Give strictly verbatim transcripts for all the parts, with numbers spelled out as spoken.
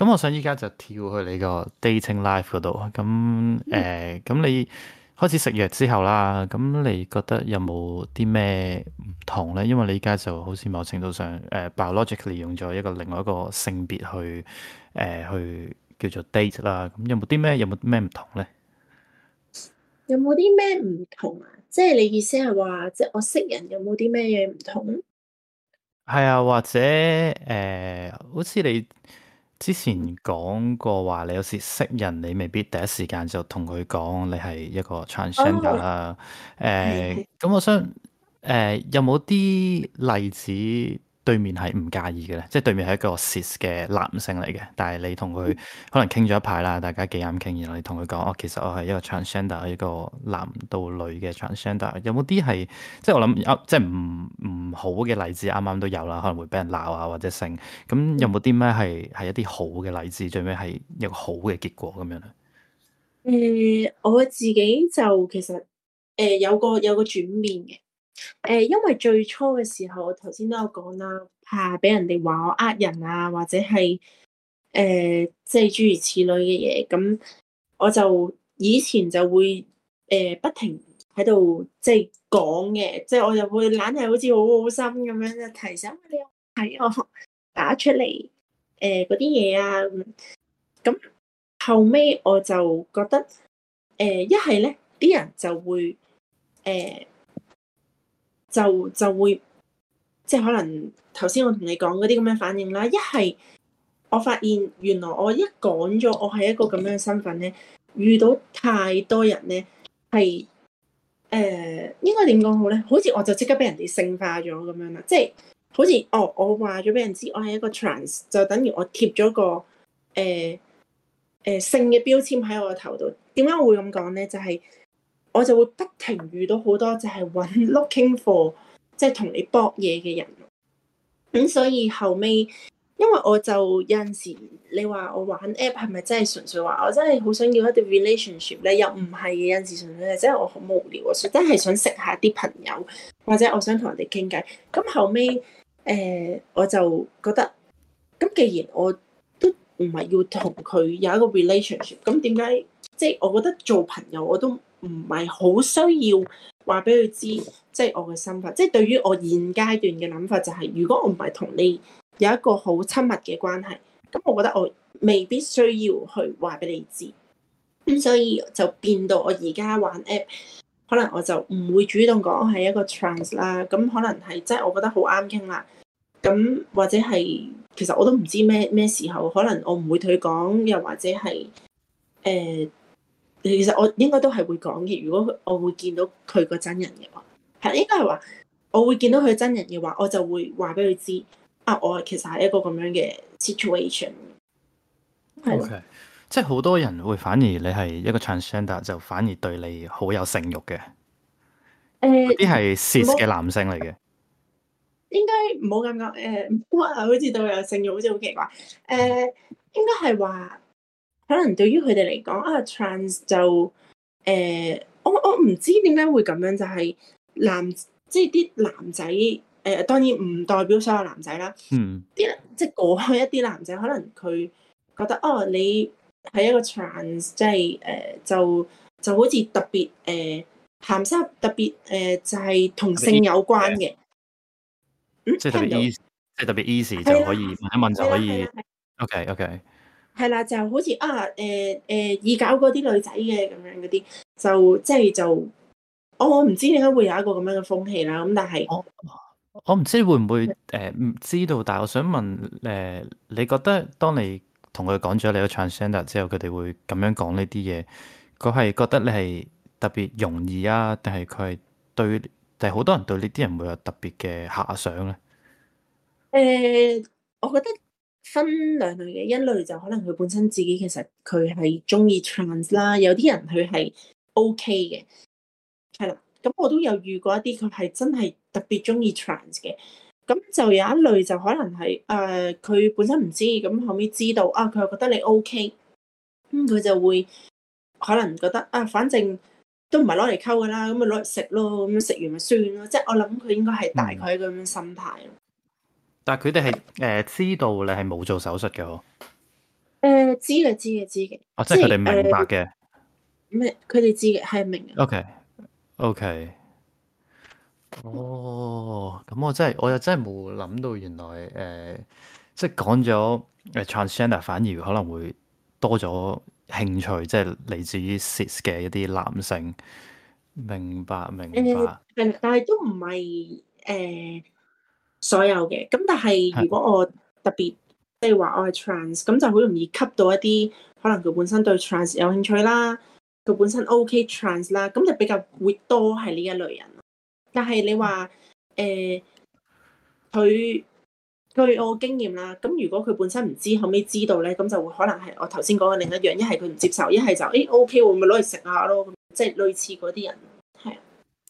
咁我想依家就跳去你個 dating life 嗰度。咁誒，咁、你開始食藥之後啦，咁你覺得有冇啲咩唔同咧？因為你依家就好似某程度上誒、呃、biologically 用咗一個另外一個性別去誒、呃、去叫做 date 啦。咁有冇啲咩有冇咩唔同咧？ 有冇啲咩唔同啊？即係你意思係話，即係我識人有冇啲咩嘢唔同？ 係啊，或者誒、呃好似你之前講過話，你有時識人，你未必第一時間就同佢講你係一個 transgender 哦， 啦。 係誒、 係。 咁我想誒、呃有冇啲例子對面係唔介意嘅咧？即係對面係一個 cis 嘅男性嚟嘅，但係你同佢可能傾咗一排啦，大家幾啱傾，然後你同佢講，哦，其實我係一個 transgender，一個男到女嘅 transgender。有冇啲係即係我諗啊，即係唔唔好嘅例子，啱啱都有啦，可能會俾人鬧啊或者性。咁有冇啲咩係係一啲好嘅例子，最尾係一個好嘅結果咁樣咧？ 誒、我自己就其實誒、有個有個轉變嘅。誒、因為最初嘅時候，我頭先都有講啦，怕俾人哋話我呃人啊，或者係誒、即係諸如此類嘅嘢。咁我就以前就會誒、不停喺度即係講嘅，即係我就會懶係好似好好心咁樣就提醒你睇我打出嚟誒嗰啲嘢啊咁。咁後尾我就覺得誒一係咧啲人就會誒、就就會即係可能頭先我同你講嗰啲咁嘅反應啦。一係我發現原來我一講咗我係一個咁樣嘅身份咧，遇到太多人咧係誒應該點講好咧？好似我就即刻俾人哋性化咗咁樣啦，即係好似哦，我話咗俾人知我係一個 trans，就等於我貼咗個誒誒、呃性嘅標籤喺我個頭度。點解我會咁講咧？就係、我就會不停遇到好多就係揾 looking for 即係同你搏嘢嘅人。咁所以後尾，因為我就有陣時，你話我玩 app 係咪真係純粹話我真係好想要一段 relationship 咧？又唔係嘅，有陣時純粹係真係我好無聊啊，真係想識下啲朋友，或者我想同人哋傾偈。咁後尾，誒、呃我就覺得，咁既然我都唔係要同佢有一個 relationship，咁點解即係我覺得做朋友我都唔係好需要話俾佢知，即係我嘅身份。即係對於我現階段嘅諗法就係，如果我唔係同你有一個好親密嘅關係，咁我覺得我未必需要去話俾你知。咁所以就變到我而家玩 app，可能我就唔會主動講我係一個 trans 啦。咁可能係即係我覺得好啱傾啦。咁或者係其實我都唔知咩咩時候，可能我唔會同佢講，又或者係誒、其實我應該都係會講嘅。如果我會見到佢個真人嘅話，係應該係話我會見到佢真人嘅話，我就會話俾佢知啊，我其實係一個咁樣嘅 situation，係咯。 OK，即係好多人會反而你係一個 transgender 就反而對你好有性慾嘅，嗰啲誒係 cis 唔好嘅男性嚟嘅。 應該唔好咁講。誒哇，好似對我有性慾，好似好奇怪。誒、應該係話可能對於佢哋嚟講啊，trans 就誒、我我唔知點解會咁樣，就係、男即係啲男仔誒、當然唔代表所有男仔啦。 嗯， 啲即係嗰一啲男仔，可能佢覺得哦，你係一個 trans，即係誒就就好似特別誒鹹濕，特別誒、就係、同特別 easy 性有關嘅， 嘅。嗯， 即係特別聽唔到？ easy，即係特別 easy 就係啦， 可以問一問就係啦，係啦， 可以。 係。 OK OK， 係啦，就好似啊誒誒易搞嗰啲女仔嘅咁樣嗰啲，就即係就我我唔知點解會有一個咁樣嘅風氣啦。咁但係我我唔知會唔會誒唔知道，但係我想問誒、呃你覺得當你同佢講咗你個 transgender 之後，佢哋會咁樣講呢啲嘢，佢係覺得你係特別容易啊，定係佢係對，定係好多人對呢啲人會有特別嘅遐想咧？ 誒、我覺得分兩類嘅。一類就可能佢本身自己其實佢係中意 trans 啦，有啲人佢係 OK 嘅，係啦。咁我都有遇過一啲佢係真係特別中意 trans 嘅。咁就有一類就可能係誒佢本身唔知，咁後尾知道啊，佢又覺得你 OK，咁佢就會可能覺得啊，反正都唔係攞嚟溝噶啦，咁咪攞嚟食咯，咁樣食完咪算咯。即係我諗佢應該係大概嗯， 係一個咁樣心態咯。 但係佢哋係誒知道你係冇做手術嘅喎。 誒知嘅知嘅知嘅， 哦，即即係佢哋係誒明白嘅。 咩？佢哋知嘅係明嘅。 OK OK。哦，咁我真係我又真係冇諗到，原來誒、呃即係講咗誒 transgender 反而可能會多咗興趣，即係嚟自於 cis 嘅一啲男性。明白明誒白。 係，但係都唔係誒所有嘅。咁但係係。 如果我特別即係話我係 trans，咁就好容易吸到一啲可能佢本身對 trans 有興趣啦，佢本身 OK trans 啦，咁就比較會多係呢一類人。但係你話誒佢據我經驗啦，咁如果佢本身唔知，後尾知道咧，咁就會可能係我頭先講嘅另一樣，一係佢唔接受，一係就誒 OK 喎，咪攞嚟食下咯，咁即係類似嗰啲人，係啊。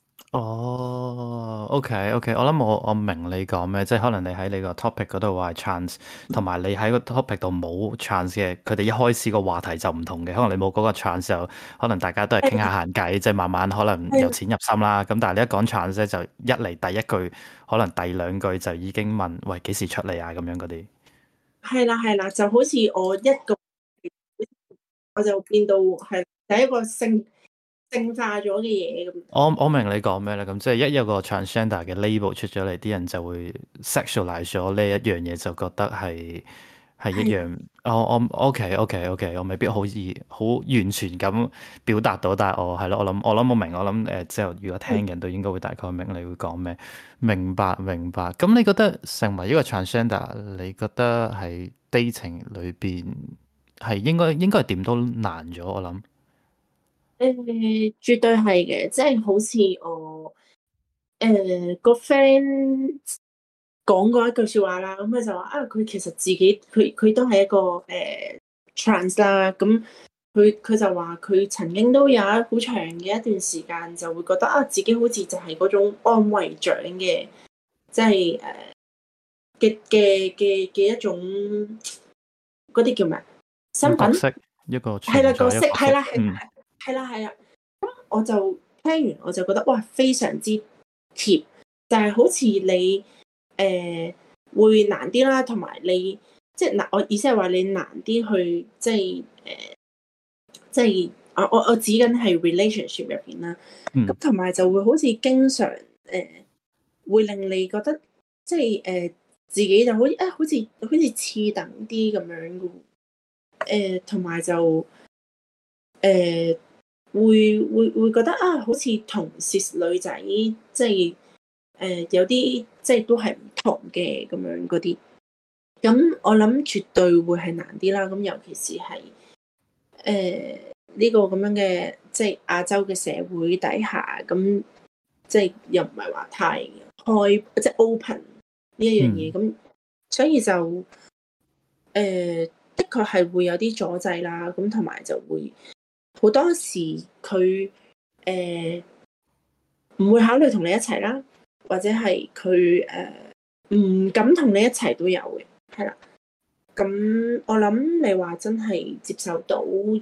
哦，OK OK，我諗我我明你講咩，即係可能你喺你個 topic 嗰度話係 trans，同埋你喺個 topic 度冇 trans 嘅，佢哋一開始個話題就唔同嘅，可能你冇嗰個 trans 就可能大家都係傾下閒偈，即係慢慢可能由淺入深啦。咁但係你一講 trans 咧，就一嚟第一句，可能第兩句就已經問喂幾時出嚟啊咁樣嗰啲。 係啦係啦，就好似我一個我就變到係第一個性性化咗嘅嘢咁。 我我明你講咩啦，咁即係一有個 transgender 嘅 label 出咗嚟，啲人就會 sexualize 咗呢一樣嘢，就覺得係係一樣。我我 OK OK OK，我未必好易好完全咁表達到，但係我係咯，我諗我諗我明，我諗誒之後如果聽嘅人都應該會大概明你會講咩。明白明白。咁你覺得成為一個 transgender，你覺得喺 dating 裏邊係應該應該係點都難咗？我諗。 誒，絕對係嘅，即係好似我誒個 friend 講過一句說話啦，咁佢就話啊，佢其實自己佢佢都係一個誒 trans 啦，咁佢佢就話佢曾經都有一好長嘅一段時間就會覺得啊，自己好似就係嗰種安慰獎嘅，即係誒嘅嘅嘅嘅一種嗰啲叫咩身份？ 個角色一個係啦， 存在角色一個角色。 係啦係嗯。 係啦係啦。我就聽完我就覺得哇，非常之貼，就係、是、好似你誒、呃、會難啲啦，同埋你即係嗱，我意思係話你難啲去即係誒、呃，即係我我我指緊係 relationship 入邊啦。咁同埋就會好似經常誒、呃，會令你覺得即係誒、呃、自己就好似啊，好似好似次等啲咁樣嘅誒，同、呃、埋就誒。呃會會會覺得啊，好似同 cis 女仔即係誒、呃、有啲即係都係唔同嘅咁樣嗰啲，咁我諗絕對會係難啲啦。咁尤其是係誒呢個咁樣嘅即係亞洲嘅社會底下，咁即係又唔係話太開即係 open 呢一樣嘢，咁、嗯、所以就誒、呃、的確係會有啲阻滯啦。咁同埋就會。好多時佢誒唔會考慮同你一齊啦，或者係佢誒唔敢同你一齊都有嘅，係啦。咁我諗你話真係接受到而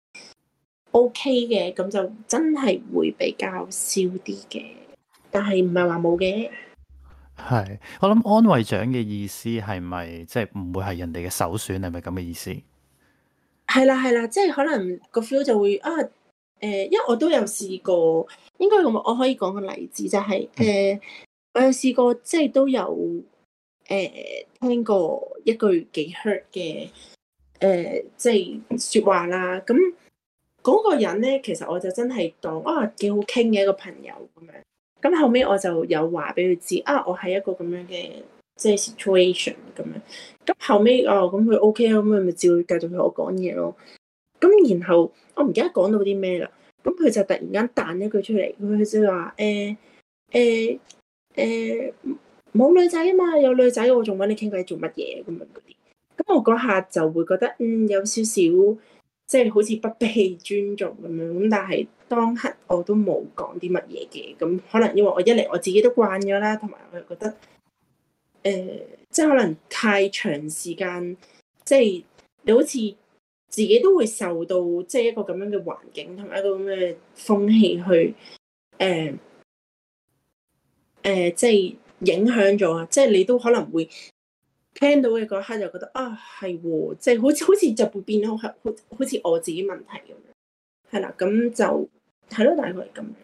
OK 嘅，咁就真係會比較少啲嘅，但係唔係話冇嘅。 係，我諗安慰獎嘅意思係咪即係唔會係人哋嘅首選？係咪咁嘅意思？ 係啦係啦，即係可能個 feel 就會啊誒、呃，因為我都有試過，應該咁我可以講個例子就係、是、誒、呃，我有試過即係都有誒、呃、聽過一句幾 hurt 嘅誒，即係說話啦。咁嗰個人咧，其實我就真係當啊幾好傾嘅一個朋友咁樣。咁後尾我就有話俾佢知啊，我係一個咁樣嘅。即係 situation 咁樣，咁後尾哦，咁佢 OK 啊，咁佢咪照繼續同我講嘢咯。咁然後我唔記得講到啲咩啦，咁佢就突然間彈一句出嚟，佢就話誒誒誒冇女仔啊嘛，有女仔我仲揾你傾偈做乜嘢咁樣嗰啲。咁我嗰下就會覺得嗯有少少即係好似不被尊重咁樣，咁但係當刻我都冇講啲乜嘢嘅，咁可能因為我一嚟我自己都慣咗啦，同埋我又覺得。誒、呃，即係可能太長時間，即係你好似自己都會受到即係一個咁樣嘅環境同埋一個咁嘅風氣去誒誒、呃呃，即係影響咗啊！即係你都可能會聽到嘅嗰一刻就覺得啊係喎，即係好似好似就會變咗好好好似我自己問題咁樣，係啦，咁就係咯，大概係咁。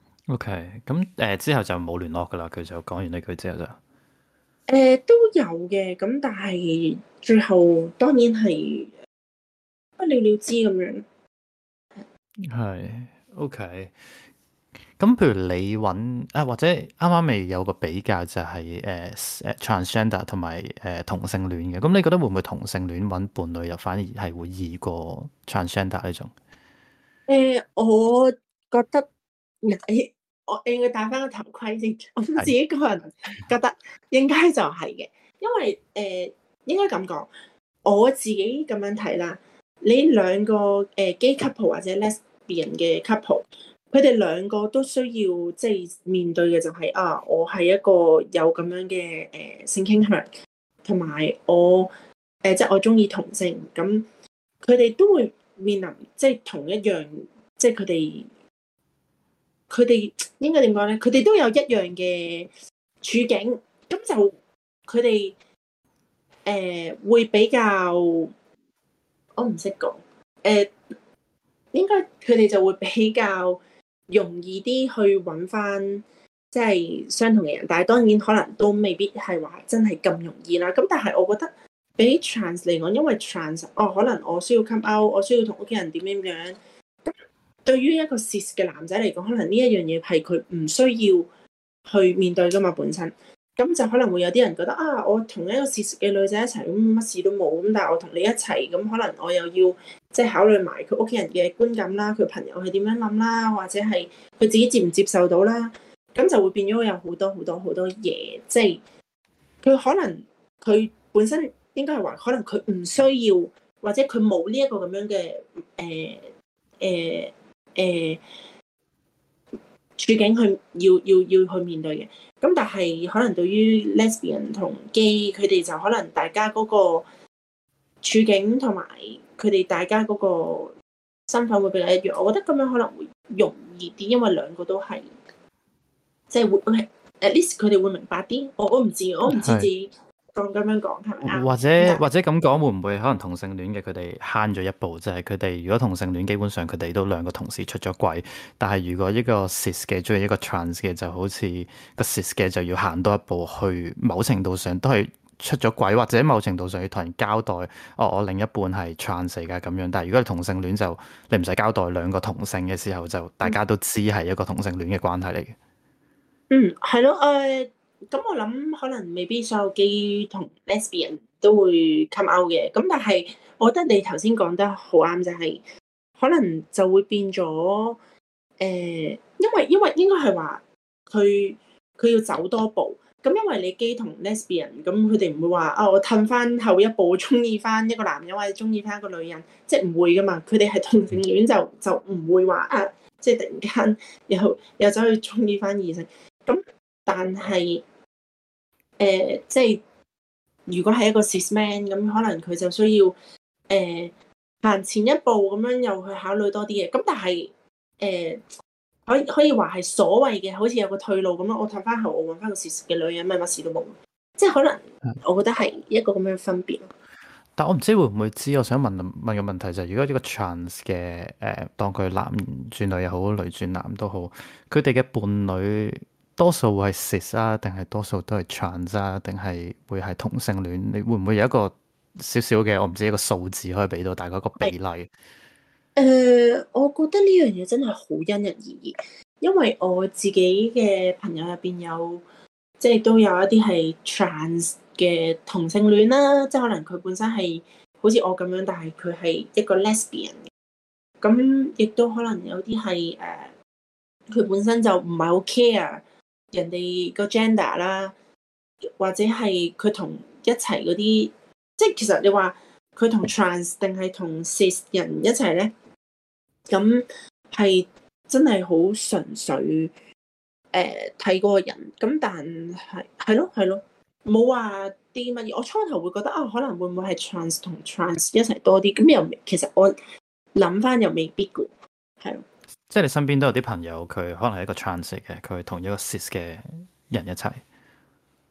OK，咁誒、呃、之後就冇聯絡噶啦，佢就講完呢句之後就誒、呃、都有嘅，咁但係最後當然係不了了之咁樣。 係 OK。咁譬如你揾啊，或者啱啱未有個比較就係誒誒 transgender 同埋誒同性戀嘅，咁你覺得會唔會同性戀揾伴侶又反而係會易過 transgender 呢種？ 誒、我覺得誒我應該戴翻個頭盔先，我自係己個人覺得應該就係嘅，因為誒、應該咁講，我自己咁樣睇啦，你兩個誒 gay couple 或者 lesbian 嘅 couple。佢哋兩個都需要即係面對嘅就係、啊，我係一個有咁樣嘅誒、呃、性傾向，同埋我誒、呃、即係我中意同性，咁佢哋都會面臨即係同一樣，即係佢哋佢哋應該點講咧？佢哋都有一樣嘅處境，咁就佢哋誒會比較，我唔識講誒，應該佢哋就會比較容易啲去揾翻即係相同嘅人，但係當然可能都未必係話真係咁容易啦。咁但係我覺得比 trans 嚟講，因為 trans 哦，可能我需要 come out，我需要同屋企人點點樣。咁對於一個 cis 嘅男仔嚟講，可能呢一樣嘢係佢唔需要去面對噶嘛本身。咁就可能會有啲人覺得啊，我同一個 cis 嘅女仔一齊，咁乜事都冇。咁但係我同你一齊，咁可能我又要即係考慮埋佢屋企人嘅觀感啦，佢朋友係點樣諗啦，或者係佢自己接唔接受到啦。咁就會變咗有好多好多好多嘢，即係佢可能佢本身應該係話，可能佢唔需要，或者佢冇呢一個咁樣嘅誒誒誒處境去要要要去面對嘅。咁但係可能對於 lesbian 同 gay，佢哋就可能大家嗰個處境同埋佢哋大家嗰個身份會比較一樣。我覺得咁樣可能會容易啲，因為兩個都係即係會 at least 佢哋會明白啲。我我唔知，我唔知自己講咁樣講係咪啱？ 或者或者咁講，會唔會可能同性戀嘅佢哋慳咗一步？就係佢哋如果同性戀，基本上佢哋都兩個同時出咗櫃。但係如果一個 cis 嘅中意一個 trans 嘅，就好似個 cis 嘅就要行多一步，去某程度上都係出咗軌，或者某程度上要同人交代，哦，我另一半係 trans 嚟㗎咁樣。但係如果係同性戀就你唔使交代，兩個同性嘅時候就大家都知係一個同性戀嘅關係嚟嘅。 嗯，係咯，誒，咁我諗可能未必所有 gay 同 lesbian 都會 come out 嘅，咁但係我覺得你頭先講得好啱，就係可能就會變咗，誒，因為因為應該係話佢佢要走多步，咁因為你 gay 同 lesbian，咁佢哋唔會話啊，我褪翻後一步，中意翻一個男人或者中意翻一個女人，即係唔會噶嘛，佢哋係同性戀就就唔會話啊，即係突然間又又走去中意翻異性。咁，但係誒、呃，即係如果係一個 cis man，咁可能佢就需要誒行、呃、前一步咁樣，又去考慮多啲嘢。咁但係誒，可以可以話係所謂嘅，好似有個退路咁樣。我褪翻後，我揾翻個 cis 嘅女人，咩乜事都冇。即係可能，我覺得係一個咁樣分別。 但我唔知會唔會知，我想問問個問題就係、是，如果呢個 trans 嘅誒、呃，當佢男轉女又好，女轉男都好，佢哋嘅伴侶多數會係 cis 啊，定係多數都係 trans 啊，定係會係同性戀？你會唔會有一個少少嘅，我唔知一個數字可以俾到大家一個比例？誒、 呃，我覺得呢樣嘢真係好因人而異，因為我自己嘅朋友入邊有，即係都有一啲係 trans 嘅同性戀啦，即係可能佢本身係好似我咁樣，但係佢係一個 lesbian。咁亦都可能有啲係誒，佢、呃、本身就唔係好 care 人哋個 gender 啦，或者係佢同一齊嗰啲，即係其實你話佢同 trans 定係同 cis 人一齊咧，咁係真係好純粹誒睇嗰個人。咁但係係咯係咯，冇話啲乜嘢。我初頭會覺得啊，可能會唔會係 trans 同 trans 一齊多啲？咁又其實我諗翻又未必嘅，係咯。 即係你身邊都有啲朋友，佢可能係一個 trans 嘅，佢同一個 cis 嘅人一齊。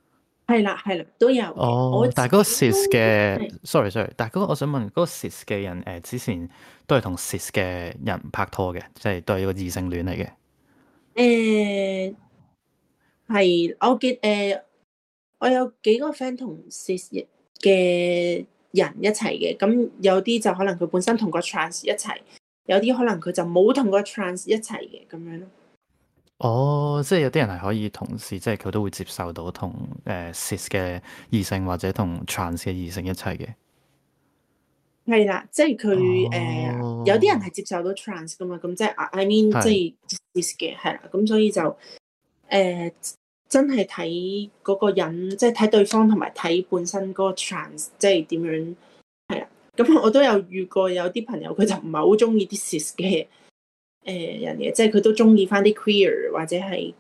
係啦係啦都有嘅。我哦， 自己但係嗰個 cis 嘅係 ，sorry sorry，但係嗰個我想問，嗰、個 cis 嘅人誒、呃、之前都係同 cis 嘅人拍拖嘅，即係都係一個異性戀嚟嘅。 誒係我記誒、呃我有幾個 friend 同 cis 嘅人一齊嘅，咁有啲就可能佢本身同個 trans 一齊，有啲可能佢就冇同個 trans 一齊嘅咁樣咯。 哦，即係有啲人係可以同時，即係佢都會接受到同誒 cis 嘅異性或者同 trans 嘅異性一齊嘅。 係啦，即係佢誒有啲人哦， 係接受到 trans 噶嘛，咁即係 I mean 即係。 係 cis 嘅係啦，咁所以就誒、呃真係睇嗰個人，即係睇對方同埋睇本身嗰個 trans 即係點樣係啦。咁我都有遇過有啲朋友佢就唔係好中意啲 cis 嘅誒人嘅，即係佢都中意翻啲 queer 或者係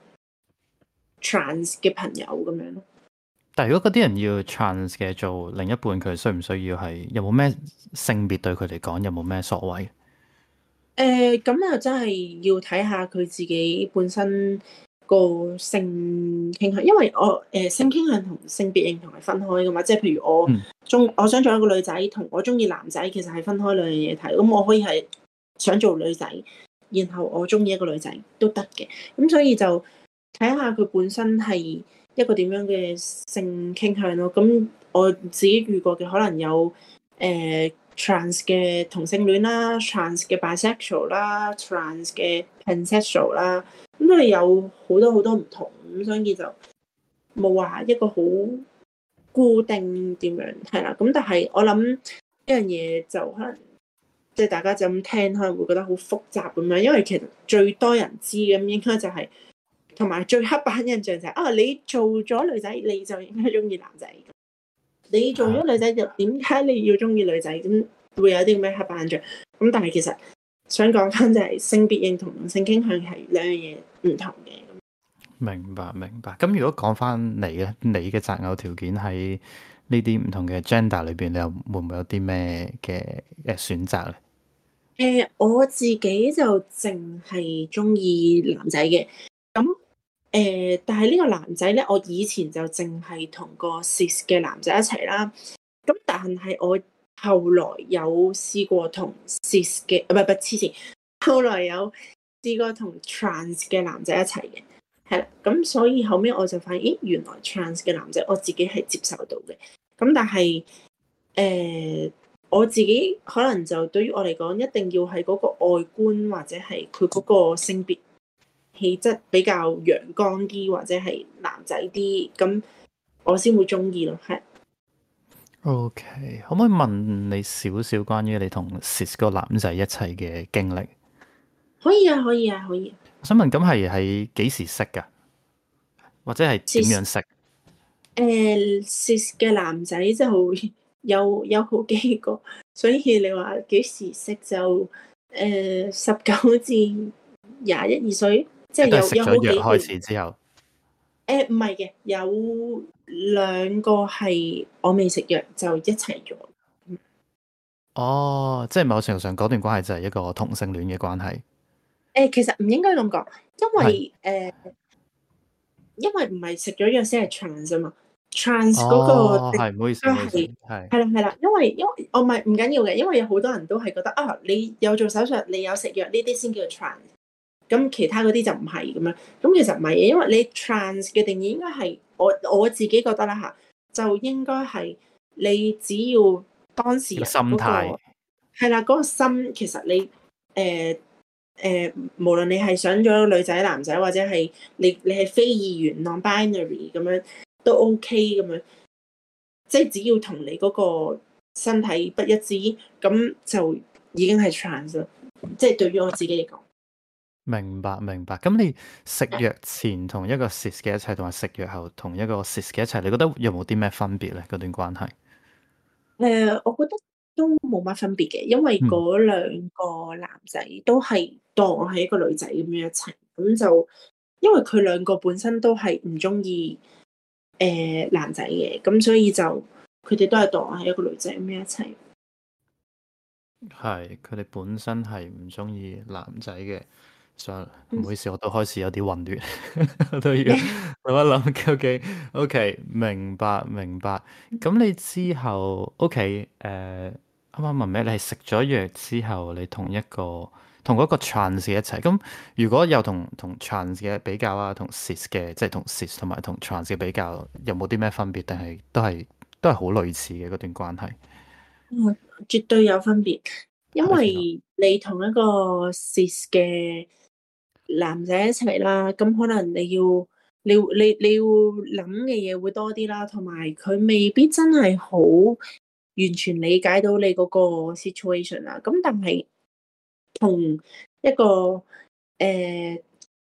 trans 嘅朋友咁樣咯。 但係如果嗰啲人要 trans 嘅做另一半，佢需唔需要係有冇咩性別對佢嚟講有冇咩所謂？ 誒咁又真係要睇下佢自己本身個性傾向，因為我誒、呃、性傾向同性別認同係分開噶嘛，即係譬如我嗯， 中我想做一個女仔，同我中意男仔其實係分開兩樣嘢睇。咁我可以係想做女仔，然後我中意一個女仔都得嘅。咁所以就睇下佢本身係一個點樣嘅性傾向咯。咁我自己遇過嘅可能有誒。呃 trans 嘅同性戀啦，trans 嘅 bisexual 啦，trans 嘅 pansexual 啦，咁佢哋有好多好多唔同，咁所以就冇話一個好固定點樣係啦。咁但係我諗一樣嘢就可能即係大家就咁聽，可能會覺得好複雜咁樣，因為其實最多人知咁應該就係同埋最刻板印象就係、是、啊，你做咗女仔你就應該中意男仔。你做咗女仔就點解你要中意女仔？咁會有啲咩刻板印象？咁但係其實想講翻就係性別認同同性傾向係兩樣嘢唔同嘅。 明白明白。咁如果講翻你咧，你嘅擇偶條件喺呢啲唔同嘅 gender 裏邊，你又會唔會有啲咩嘅誒選擇咧？ 誒、呃，我自己就淨係中意男仔嘅。咁誒、呃，但係呢個男仔咧，我以前就淨係同個 cis 嘅男仔一齊啦。咁但係我後來有試過同 cis 嘅，唔係唔係黐線，後來有試過同 trans 嘅男仔一齊嘅，係啦。咁所以後尾我就發現，咦，原來 trans 嘅男仔我自己係接受到嘅。咁但係誒、呃，我自己可能就對於我嚟講，一定要係嗰個外觀或者係佢嗰個性別氣質比較陽光啲，或者係男仔啲，咁我先會中意咯，係。 OK，可唔可以問你少少關於你同 cis 嗰個男仔一齊嘅經歷？ 可以啊，可以啊，可以啊。 我想問，咁係喺幾時識㗎？或者係點 cis 樣識？ 誒 cis 嘅男仔就有有好幾個，所以你話幾時識就誒十九至廿一二歲，即係即都係有有食咗藥開好幾段。 始之後。 誒唔係嘅，有兩個係我未食藥就一齊咗。 哦，即係某程度上嗰段關係就係一個同性戀嘅關係。 誒其實唔應該咁講，因係。 為誒。因為唔係食咗藥先係 trans 啊嘛，trans 嗰個哦， 定係，唔好意思，唔好意思， 都係係。 係啦係啦，因為因為我唔係唔緊要嘅，因為有好多人都係覺得啊，你有做手術，你有食藥呢啲先叫做 trans，咁其他嗰啲就唔係咁樣。咁其實唔係嘅，因為你 trans 嘅定義應該係我我自己覺得啦嚇，就應該係你只要當事個人嗰心態。 個係啦嗰個心，其實你誒。誒、呃，無論你係想咗女仔、男仔，或者係你你係非二元 non-binary 咁樣都 OK 咁樣，即係只要同你嗰個身體不一致，咁就已經係 trans 啦。即係對於我自己嚟講， 明白明白。咁你食藥前同一個 cis 嘅一齊，同埋食藥後同一個 cis 嘅一齊，你覺得有冇啲咩分別咧？嗰段關係？ 誒、呃，我覺得都冇乜分別嘅，因為嗯。 嗰兩個男仔都係當我係一個女仔咁樣一齊，咁就因為佢兩個本身都係唔中意誒男仔嘅，咁所以就佢哋都係當我係一個女仔咁樣一齊。 係，佢哋本身係唔中意男仔嘅， 算啦， 嗯唔好意思，我都開始有啲混亂，我都要諗一諗究竟。OK，明白明白。咁你之後，OK，誒、啱啱問咩？你係食咗藥之後，你同一個同嗰個 trans 一齊。咁如果有同同 trans 嘅比較啊，同 cis 嘅，即係同 cis 同埋同 trans 嘅比較，有冇啲咩分別？定係都係都係好類似嘅嗰段關係？ 嗯絕對有分別，因係邊個？ 為你同一個 cis 嘅男仔一齊啦，咁可能你要你要你你要諗嘅嘢會多啲啦，同埋佢未必真係好完全理解到你嗰個 situation 啦。咁但係同一個誒、呃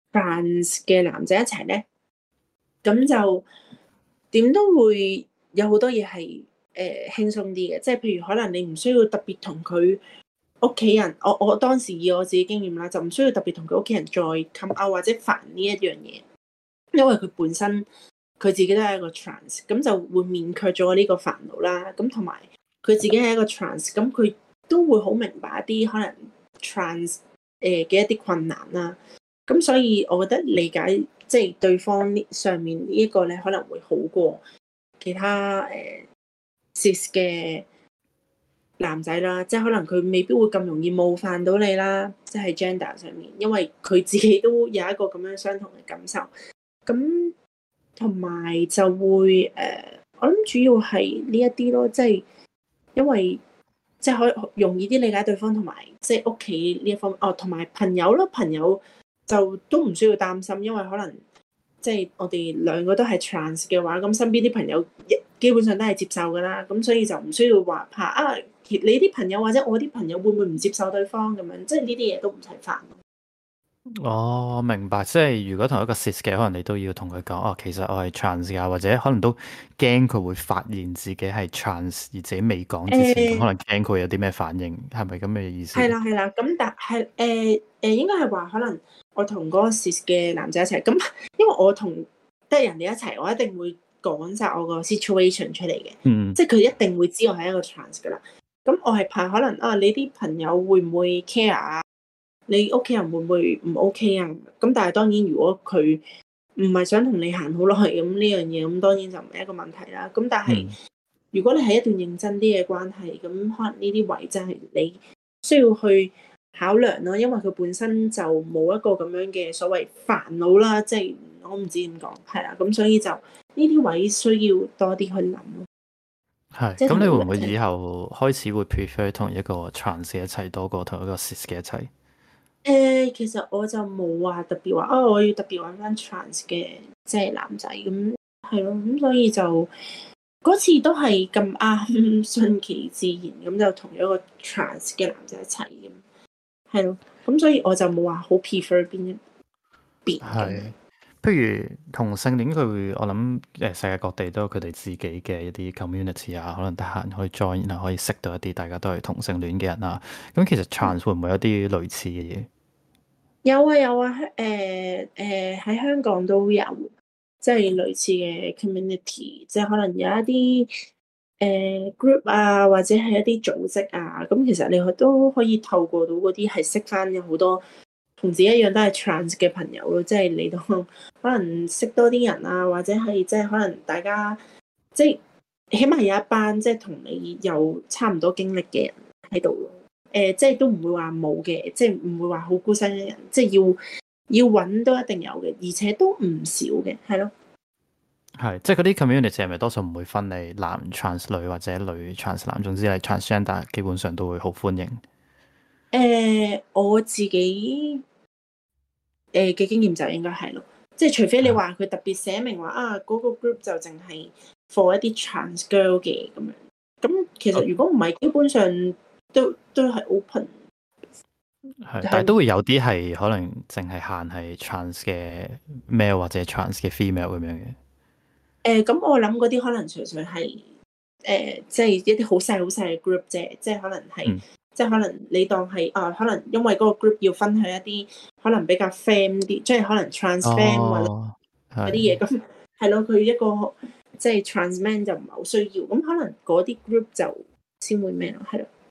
trans 嘅男仔一齊咧，咁就點都會有好多嘢係誒輕鬆啲嘅，即係譬如可能你唔需要特別同佢屋企人，我我當時以我自己經驗啦，就唔需要特別同佢屋企人再 come out 或者煩呢一樣嘢，因為佢本身佢自己都係一個 trans，咁就會免卻咗呢個煩惱啦。咁同埋佢自己係一個 trans，咁佢都會好明白一啲可能 trans 誒嘅一啲困難啦。咁所以我覺得理解即係對方呢上面呢一個咧，可能會好過其他誒 cis 嘅男仔啦，即係可能佢未必會咁容易冒犯到你啦，即係 gender 上面，因為佢自己都有一個咁樣相同嘅感受。咁同埋就會誒、呃，我諗主要係呢一啲咯，即係因為即係可以容易啲理解對方，同埋即係屋企呢一方面哦，同埋朋友咯，朋友就都唔需要擔心，因為可能即係我哋兩個都係 trans 嘅話，咁身邊啲朋友基本上都係接受噶啦，咁所以就唔需要話怕啊，你啲朋友或者我啲朋友會唔會唔接受對方咁樣，即係呢啲嘢都唔使煩。 哦，明白。即係如果同一個 cis 嘅，可能你都要同佢講，哦，其實我係 trans 噶，或者可能都驚佢會發現自己係 trans，而自己未講之前，咁可誒能驚佢有啲咩反應，係咪咁嘅意思？ 係啦係啦，咁但係誒誒應該係話可能我同嗰個 cis 嘅男仔一齊，咁因為我同得人哋一齊，我一定會講晒我個 situation 出嚟嘅， 嗯， 即係佢一定會知我係一個 trans 噶啦。咁我係怕可能啊，你啲朋友會唔會 care 啊？你屋企人會唔會唔 OK 啊？咁但係當然，如果佢唔係想同你行好耐咁呢樣嘢，咁當然就唔係一個問題啦。咁但係嗯， 如果你係一段認真啲嘅關係，咁可能呢啲位真係你需要去考量咯，因為佢本身就冇一個咁樣嘅所謂煩惱啦，即係我唔知點講，係啦，咁所以就呢啲位需要多啲去諗咯， 係。 即係同咁你會唔會你一齊。 以後開始會 prefer 同一個 trans 一齊多過同一個 cis 嘅一齊？ 誒，其實我就冇話特別話，啊、哦，我要特別揾翻 trans 嘅即係男仔咁，係咯，咁所以就嗰次都係咁啱，順其自然咁就同咗個 trans 嘅男仔一齊咁，係咯，咁所以我就冇話好 prefer 邊一邊咁樣。 係。譬如同性戀佢會，我諗誒世界各地都有佢哋自己嘅一啲 community 啊，可能得閒可以 join，然後可以識到一啲大家都係同性戀嘅人啊。咁其實 trans 會唔會有啲類似嘅嘢？ 有啊有啊，誒誒喺香港都有，即係類似嘅 community，即係可能有一啲誒、呃、group 啊，或者係一啲組織啊，咁其實你都可以透過到嗰啲係識翻有好多同自己一樣都係 trans 嘅朋友咯，即係你都可能識多啲人啊，或者係即係可能大家即係起碼有一班即係同你有差唔多經歷嘅人喺度咯。誒、呃，即係都唔會話冇嘅，即係唔會話好孤身嘅人，即係要要揾都一定有嘅，而且都唔少嘅，係咯。 係，即係嗰啲 community 係咪多數唔會分你男 trans 女或者女 trans 男，總之係 transgender，基本上都會好歡迎。 誒、呃，我自己誒嘅經驗就應該係咯，即係除非你話佢特別寫明話啊，嗰、嗰個 group 就淨係 for 一啲 trans girl 嘅咁樣，咁其實如果唔係，基本上都都係 open。 係，但係都會有啲係可能淨係限係 trans 嘅 male 或者 trans 嘅 female 咁樣嘅。 誒、呃，咁我諗嗰啲可能純粹係誒、呃，即係一啲好細好細嘅 group 啫，即係可能係， 嗯， 即係可能你當係啊，可能因為嗰個 group 要分享一啲可能比較 fam 啲，即係可能 trans fam 或者哦， 嗰啲嘢， 係。 咁係咯，佢一個即係 trans man 就唔係好需要，咁可能嗰啲 group 就先會咩咯，係咯。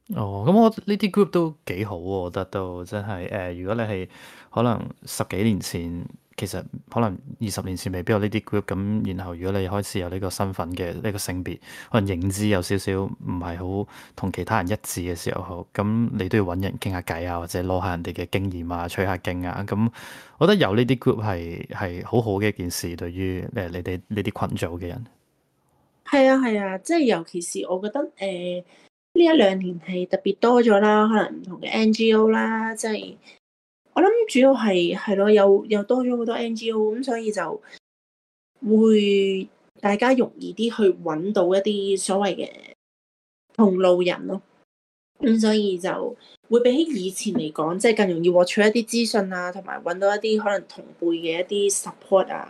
哦，咁我呢啲 group 都幾好喎，我覺得都真係誒、呃如果你係可能十幾年前，其實可能二十年前未必有呢啲 group，咁然後如果你開始有呢個身份嘅呢個性別，可能認知有少少唔係好同其他人一致嘅時候，咁你都要揾人傾下偈啊，或者攞下人哋嘅經驗啊，取下經啊，咁我覺得有呢啲 group 係係好好嘅一件事，對於誒你哋呢啲群組嘅人。 係啊係啊，即係尤其是我覺得誒呢一兩年係特別多咗啦，可能唔同嘅 N G O 啦，即係我諗主要係係咯，又又多咗好多 N G O，咁所以就會大家容易啲去揾到一啲所謂嘅同路人咯。咁所以就會比起以前嚟講，即係更容易獲取一啲資訊啊，同埋揾到一啲可能同輩嘅一啲 support 啊。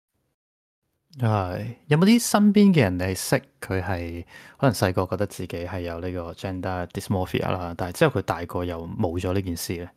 係，有冇啲身邊嘅人你係識佢係可能細個覺得自己係有呢個 gender dysmorphia 啦，但係之後佢大個又冇咗呢件事咧？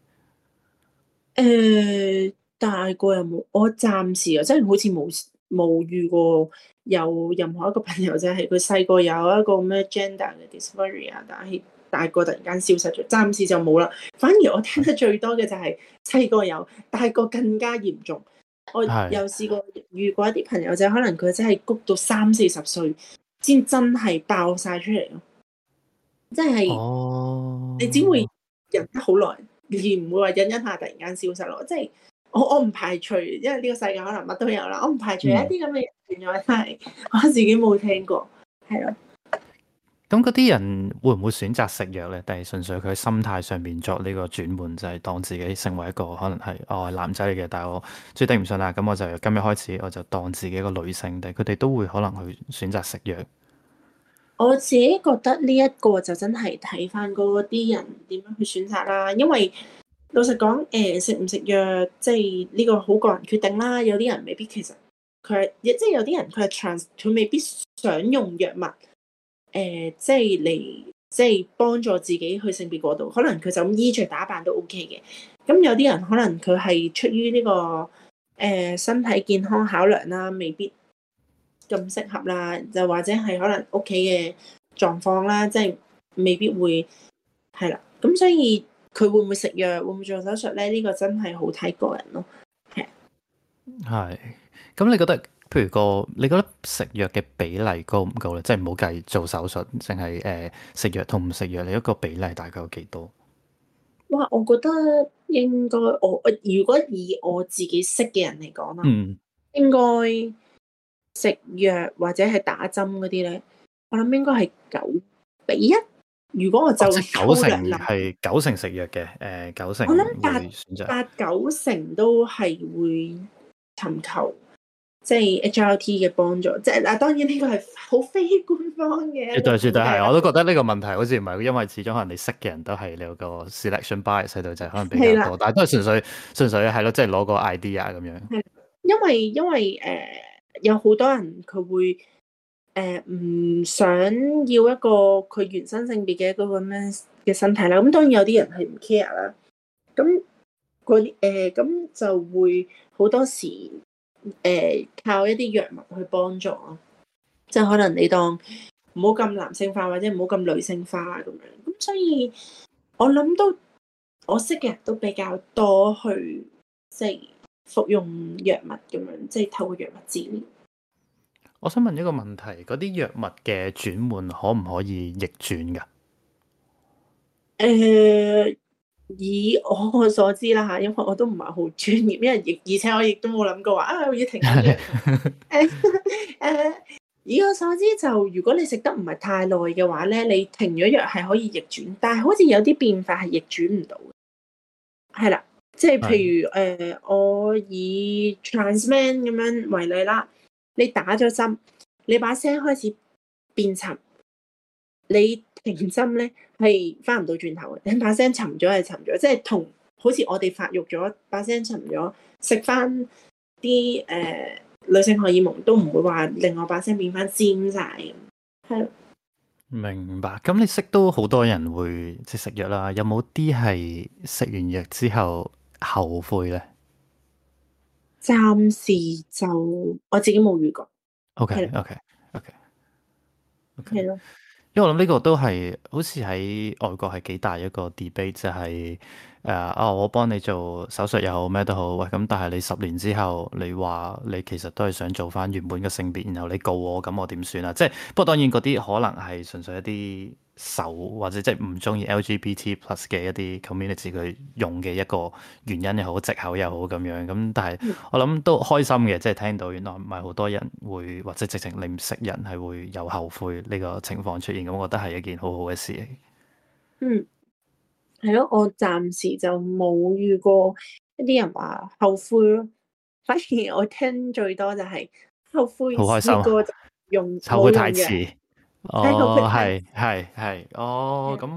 誒、大個有冇？我暫時啊，真係好似冇冇遇過有任何一個朋友，就係佢細個有一個咩 gender 嘅 dysphoria，但係大個突然間消失咗，暫時就冇啦。反而我聽得最多嘅就係細個有，大個更加嚴重。我係， 有試過遇過一啲朋友，就可能佢真係谷到三四十歲先真係爆晒出嚟咯，即係你只會哦， 忍得好耐，而唔會話忍一下突然間消失咯。即係我我唔排除，因為呢個世界可能乜都有啦，我唔排除有一嗯， 啲咁嘅人存在，但係我自己冇聽過，係咯。 咁嗰啲人會唔會選擇食藥咧？定係純粹佢喺心態上面作呢個轉換，就係當自己成為一個可能係哦係男仔嚟嘅，但係我最頂唔順啦，咁我就由今日開始我就當自己一個女性，定係佢哋都會可能去選擇食藥？ 我自己覺得呢一個就真係睇翻嗰啲人點樣去選擇啦，因為老實講，誒食唔食藥，即係呢個好個人決定啦。有啲人未必其實佢係，即係有啲人佢係 trans，佢未必想用藥物，誒、即係嚟即係幫助自己去性別過渡，可能佢就咁衣着打扮都 OK 嘅。咁有啲人可能佢係出於呢、個誒、身體健康考量啦，未必咁適合啦，就或者係可能屋企嘅狀況啦，即係未必會係啦。咁所以佢會唔會食藥，會唔會做手術咧？呢、個真係好睇個人咯。係係，咁你覺得，譬如個，你覺得食藥嘅比例高唔高咧？即係唔好計做手術，淨係誒食藥同唔食藥，你一個比例大概有幾多？ 哇，我覺得應該我我如果以我自己識嘅人嚟講啦， 嗯， 應該食藥或者係打針嗰啲咧，我諗應該係九比一。如果我哦， 就即係九成粗略諗， 係九成食藥嘅，誒九成我諗八會選擇。 八九成都係會尋求即係 H R T 嘅幫助。即係嗱，當然呢個係好非官方嘅一個絕對絕對係， 估計啦。 我都覺得呢個問題好似唔係，因為始終可能你識嘅人都係你有個 selection bias 喺度，就係可能比係啦， 較多，但係都係純粹純粹係咯，即係攞個 idea 咁樣。 係因為因為誒、呃有好多人佢會誒唔、想要一個佢原生性別嘅一個咁樣嘅身體啦。咁當然有啲人係唔 care 啦。咁嗰啲誒咁就會好多時誒、呃靠一啲藥物去幫助咯。即係可能你當唔好咁男性化或者唔好咁女性化咁樣。咁所以我諗都我識嘅人都比較多去即係服用藥物咁樣，即係透過藥物治療。 我想問一個問題，嗰啲藥物嘅轉換可唔可以逆轉㗎？ 誒、以我所知啦嚇，因為我都唔係好專業，因為亦而且我亦都冇諗過話啊，我要停緊藥。誒誒，以我所知就如果你食得唔係太耐嘅話咧，你停咗藥係可以逆轉，但係好似有啲變化係逆轉唔到嘅。係啦，即係係， 譬如誒、呃我以 trans man 咁樣為例啦，你打咗針，你把聲開始變沉。你停針咧係翻唔到轉頭嘅，你把聲沉咗係沉咗，即係同好似我哋發育咗，把聲沉咗，食翻啲誒女性荷爾蒙都唔會話令我把聲變翻尖晒咁。係咯， 明白。咁你識都好多人會即係食藥啦，有冇啲係食完藥之後後悔咧暫時就我自己冇遇過。係啦， ？OK OK OK OK。 係咯， 因為我諗呢個都係好似喺外國係幾大一個 debate，就係誒啊，我幫你做手術又好咩都好，喂咁，但係你十年之後你話你其實都係想做翻原本嘅性別，然後你告我，咁我點算啊？即係不過當然嗰啲可能係純粹一啲仇或者即係唔中意 L G B T plus 嘅一啲 community 佢用嘅一個原因又好，藉口又好咁樣咁，但係我諗都開心嘅，即係聽到原來唔係好多人會或者直情你唔識人係會有後悔呢個情況出現，咁我覺得係一件好好嘅事嚟。 嗯，係咯，我暫時就冇遇過一啲人話後悔咯，反而我聽最多就係後悔好開心啊！ 試過就用後悔冇用藥， 太遲。 係後悔哦， 太係係係，哦遲。 咁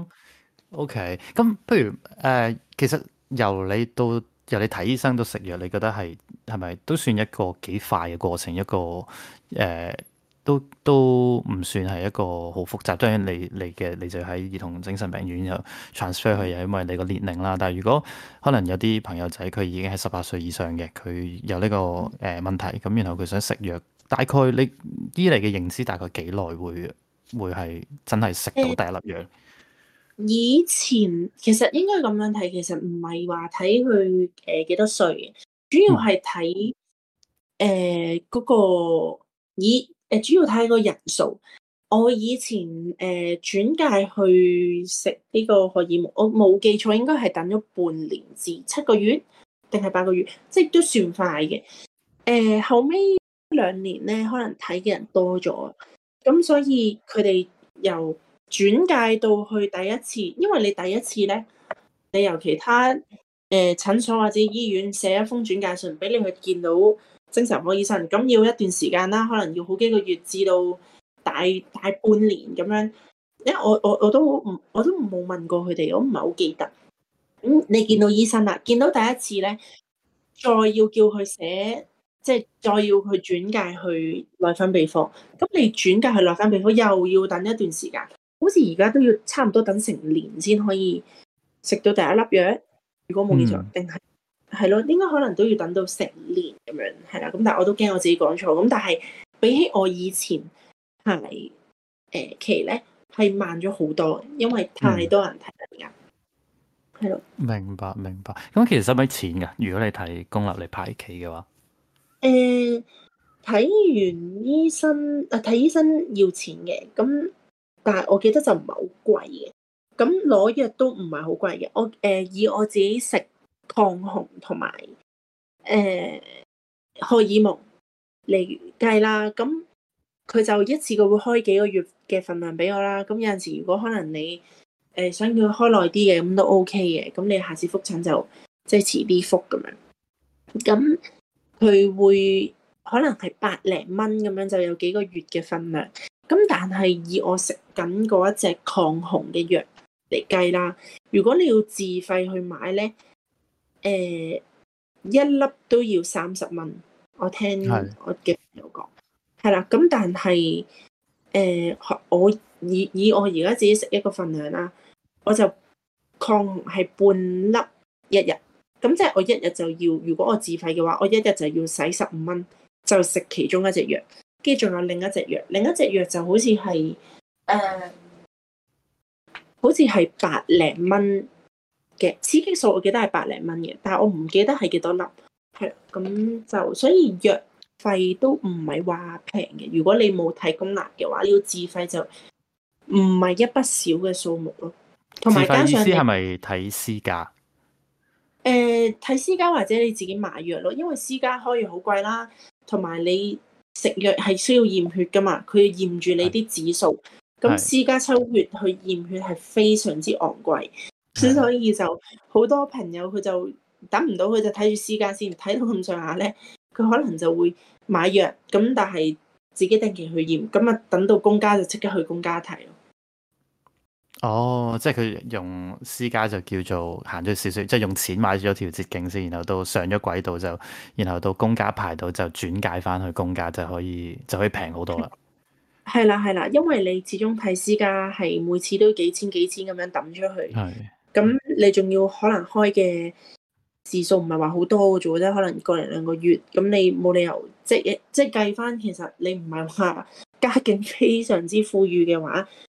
OK，咁不如誒、呃其實由你到由你睇醫生到食藥，你覺得係係咪都算一個幾快嘅過程？一個誒、呃都都唔算係一個好複雜。當然你你嘅你就喺兒童精神病院又 transfer 去，又因為你個年齡啦。但係如果可能有啲朋友仔佢已經係十八歲以上嘅，佢有呢、個誒、呃、問題，咁然後佢想食藥，大概你醫嚟嘅認知大概幾耐會會係真係食到誒， 第一粒藥？ 以前其實應該咁樣睇，其實唔係話睇佢誒幾多歲嘅，主要嗯係睇誒嗰個以誒主要睇個人數。我以前誒、呃、轉介去食呢個荷爾蒙，我冇記錯應該係等咗半年至七個月定係八個月，即係都算快嘅。誒、呃、後尾兩年咧，可能睇嘅人多咗，咁所以佢哋由轉介到去第一次，因為你第一次咧，你由其他誒、呃、診所或者醫院寫一封轉介信俾你去見到精神科醫生，咁要一段時間啦，可能要好幾個月至到大大半年咁樣。因為我我我都唔我都冇問過佢哋，我唔係好記得。咁、嗯、你見到醫生啦，見到第一次咧，再要叫佢寫，即係再要佢轉介去內分泌科。咁你轉介去內分泌科又要等一段時間，好似而家都要差唔多等成年先可以食到第一粒藥。如果冇記錯， 嗯定係係咯，應該可能都要等到成年咁樣，係啦。咁但係我都驚我自己講錯。咁但係比起我以前係誒期咧，係慢咗好多，因為太嗯， 多人睇啦而家。係咯。 明白明白。咁其實使唔使錢㗎？如果你睇公立嚟排期嘅話， 誒睇完醫生啊，睇醫生要錢嘅，咁但係我記得就唔係好貴嘅。咁攞藥都唔係好貴嘅。我誒、呃、以我自己食抗紅同埋誒荷爾蒙嚟計啦，咁佢就一次過會開幾個月嘅份量俾我啦。咁有陣時如果可能你誒、呃、想要開耐啲嘅，咁都 OK 嘅。咁你下次覆診就即係遲啲覆咁樣。咁佢會可能係百零蚊咁樣就有幾個月嘅份量。咁但係以我食緊嗰一隻抗紅嘅藥嚟計啦，如果你要自費去買咧，誒、一粒都要三十蚊。我聽係我嘅朋友講，係啦。咁但係誒、我以以我而家自己食一個份量啦，我就抗紅係半粒一日。咁即係我一日就要，如果我自費嘅話，我一日就要使十五蚊，就食其中一隻藥，跟住仲有另一隻藥，另一隻藥就好似係誒，好似係百零蚊嘅雌激素，我記得係百零蚊嘅，但係我唔記得係幾多粒。係咁就所以藥費都唔係話平嘅。如果你冇睇公立嘅話，你要自費就唔係一筆少嘅數目咯。同自埋加上你費意思係咪睇私家？ 誒睇私家或者你自己買藥咯，因為私家開藥好貴啦，同埋你食藥係需要驗血噶嘛，佢要驗住你啲指數，咁係私家抽血去驗血係非常之昂貴， 係所以就好多朋友佢就等唔到，佢就睇住私家先，睇到咁上下咧，佢可能就會買藥，咁但係自己定期去驗，咁啊等到公家就即刻去公家睇咯。 哦，即係佢用私家就叫做行咗少少，即係用錢買咗條捷徑先，然後到上咗軌道就，然後到公家排到就轉介翻去公家就可以就可以平好多啦。 係啦係啦，因為你始終睇私家係每次都幾千幾千咁樣抌出去。 係咁你仲要可能開嘅字數唔係話好多嘅啫，即可能個零兩個月，咁你冇理由即係即係計翻，其實你唔係話家境非常之富裕嘅話，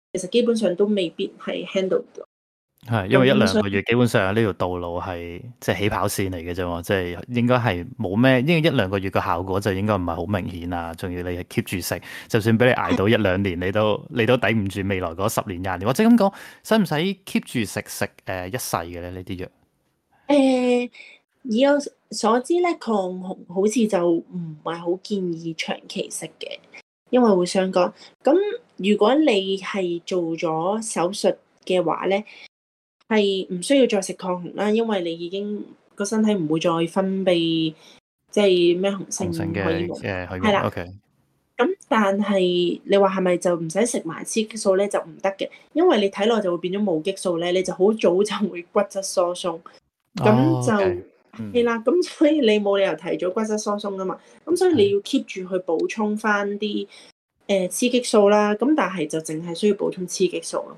其實基本上都未必係 handle 到。 係，因為一咁所以兩個月基本上呢條道路係即係起跑線嚟嘅啫喎，即係應該係冇咩，因為一兩個月嘅效果就應該唔係好明顯啊。仲要你係 keep 住食，就算俾你捱到一兩年，你都你都抵唔住未來嗰十年廿年。或者咁講，使唔使 keep 住食食誒一世嘅咧？呢啲藥？ 誒，以我所知咧，抗紅好似就唔係好建議長期食嘅，因為會傷肝。咁如果你係做咗手術嘅話咧，係唔需要再食抗紅啦，因為你已經個身體唔會再分泌即係咩雄性雄性嘅荷爾蒙。 嘅荷爾蒙係啦。 OK。 咁但係你話係咪就唔使食埋雌激素咧？就唔得嘅，因為你體內就會變咗冇激素咧，你就好早就會骨質疏鬆。咁哦就 ，OK，嗯， 係啦，咁所以你冇理由提早骨質疏鬆噶嘛，咁所以你要 keep 住去補充翻啲誒雌激素啦，咁但係就淨係需要補充雌激素咯。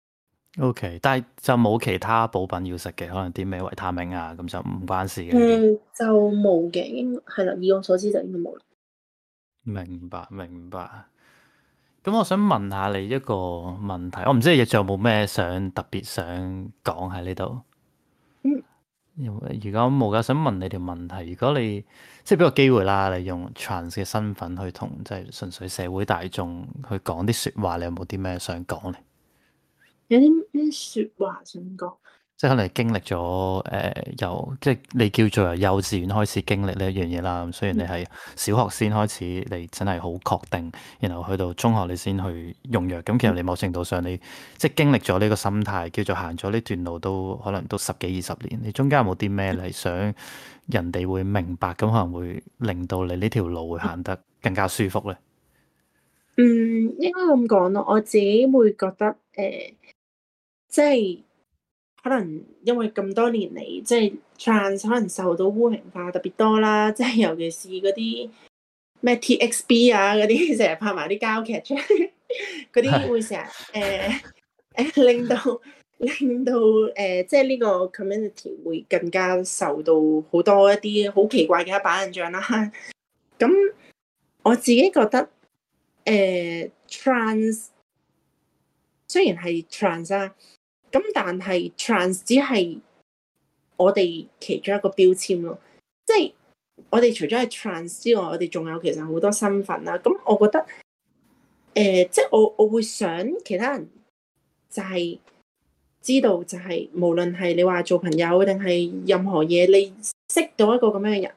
OK，但係就冇其他補品要食嘅，可能啲咩維他命啊，咁就唔關事嘅呢啲。 誒就冇嘅，應係啦，以我所知就應該冇啦。 明白明白。咁我想問下你一個問題，我唔知你仲有冇咩想特別想講喺呢度？ 嗯， 如果冇嘅，想問你條問題。如果你即係俾個機會啦，你用 trans 嘅身份去同即係純粹社會大眾去講啲説話，你有冇啲咩想講咧？ 有啲咩説話想講？ 即係可能你經歷咗誒、呃、由即係你叫做由幼稚園開始經歷呢一樣嘢啦。咁雖然你係小學先開始，你真係好確定，然後去到中學你先去用藥。咁其實你某程度上你即係經歷咗呢個心態，叫做行咗呢段路都可能都十幾二十年。你中間有冇啲咩你想人哋會明白，咁可能會令到你呢條路會行得更加舒服咧？ 嗯，應該咁講咯，我自己會覺得誒、呃，即係。可能因為咁多年嚟，即係 trans 可能受到污名化特別多啦，即係尤其是嗰啲咩 T X B 啊嗰啲，成日拍埋啲膠劇出嚟，嗰啲會成日誒誒令到令到誒、呃，即係呢個 community 會更加受到好多一啲好奇怪嘅一板印象啦。咁我自己覺得誒、呃、trans 雖然係 trans 啊。咁但係 trans 只係我哋其中一個標籤咯，即係我哋除咗係 trans 之外，我哋仲有其實好多身份啦。咁我覺得，誒、呃，即係我我會想其他人就係知道，就係無論係你話做朋友定係任何嘢，你識到一個咁樣嘅人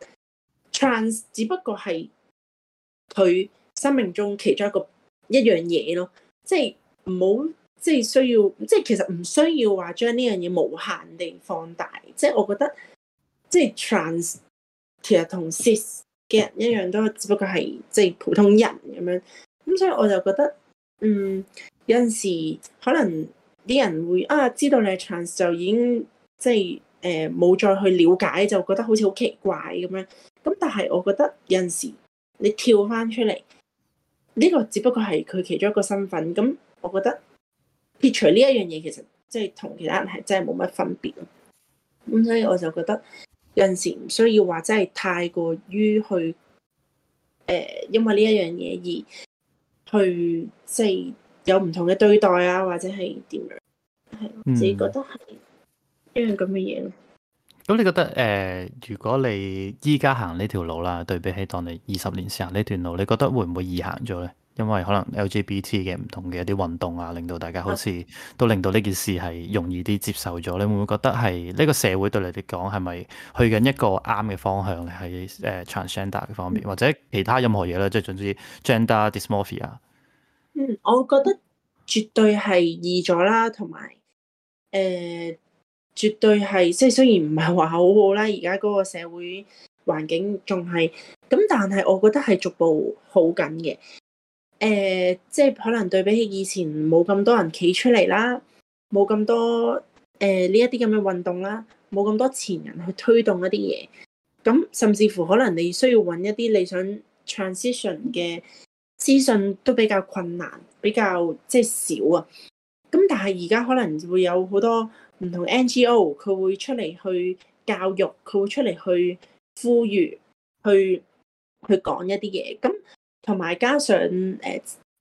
，trans 只不過係佢生命中其中一個一樣嘢咯，即係唔好。即係需要，即係其實唔需要話將呢樣嘢無限地放大。即係我覺得，即係 trans 其實同 cis 嘅人一樣，都只不過係即係普通人咁樣。咁所以我就覺得，嗯，有陣時可能啲人會啊知道你係 trans 就已經即係誒冇再去了解，就覺得好似好奇怪咁樣。咁但係我覺得有陣時你跳翻出嚟，呢個只不過係佢其中一個身份。咁我覺得。撇除呢一樣嘢，其實即係同其他人係真係冇乜分別咯。咁所以我就覺得有陣時唔需要話真係太過於去誒、呃，因為呢一樣嘢而去即係有唔同嘅對待啊，或者係點樣？係我自己覺得係一樣咁嘅嘢咯。 咁你覺得誒、呃，如果你依家行呢條路啦，對比起當你二十年前行呢段路，你覺得會唔會易行咗咧？因為可能 L G B T 嘅唔同嘅一啲運動啊，令到大家好似都令到呢件事係容易啲接受咗。你會唔會覺得係呢個社會對你嚟講係咪去緊一個啱嘅方向咧？喺誒 transgender 嘅方面，或者其他任何嘢咧，即係總之 gender dysmorphia。 嗯，我覺得絕對係易咗啦，同埋誒絕對係即係雖然唔係話好好啦，而家嗰個社會環境仲係咁，但係我覺得係逐步好緊嘅。誒、呃，即係可能對比起以前冇咁多人企出嚟啦，冇咁多誒呢一啲咁嘅運動啦，冇咁多前人去推動一啲嘢，咁甚至乎可能你需要揾一啲你想 transition 嘅資訊都比較困難，比較即係少啊。咁但係而家可能會有好多唔同 N G O，佢會出嚟去教育，佢會出嚟去呼籲，去去講一啲嘢咁。同埋加上誒、呃，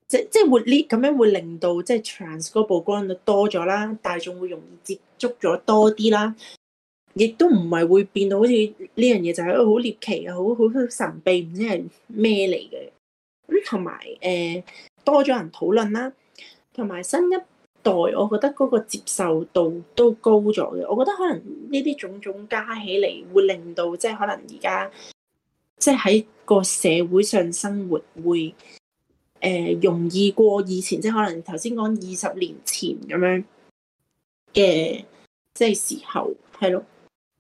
即即係會呢咁樣會令到即係 trans 嗰曝光率多咗啦，大眾會容易接觸咗多啲啦，亦都唔係會變到好似呢樣嘢就係一個好獵奇啊，好好神秘，唔知係咩嚟嘅。咁同埋誒多咗人討論啦，同埋新一代，我覺得嗰個接受度都高咗嘅。我覺得可能呢啲種種加起嚟，會令到即係可能而家即係喺個社會上生活會誒、呃、容易過以前，即係可能頭先講二十年前咁樣嘅即係時候，係咯。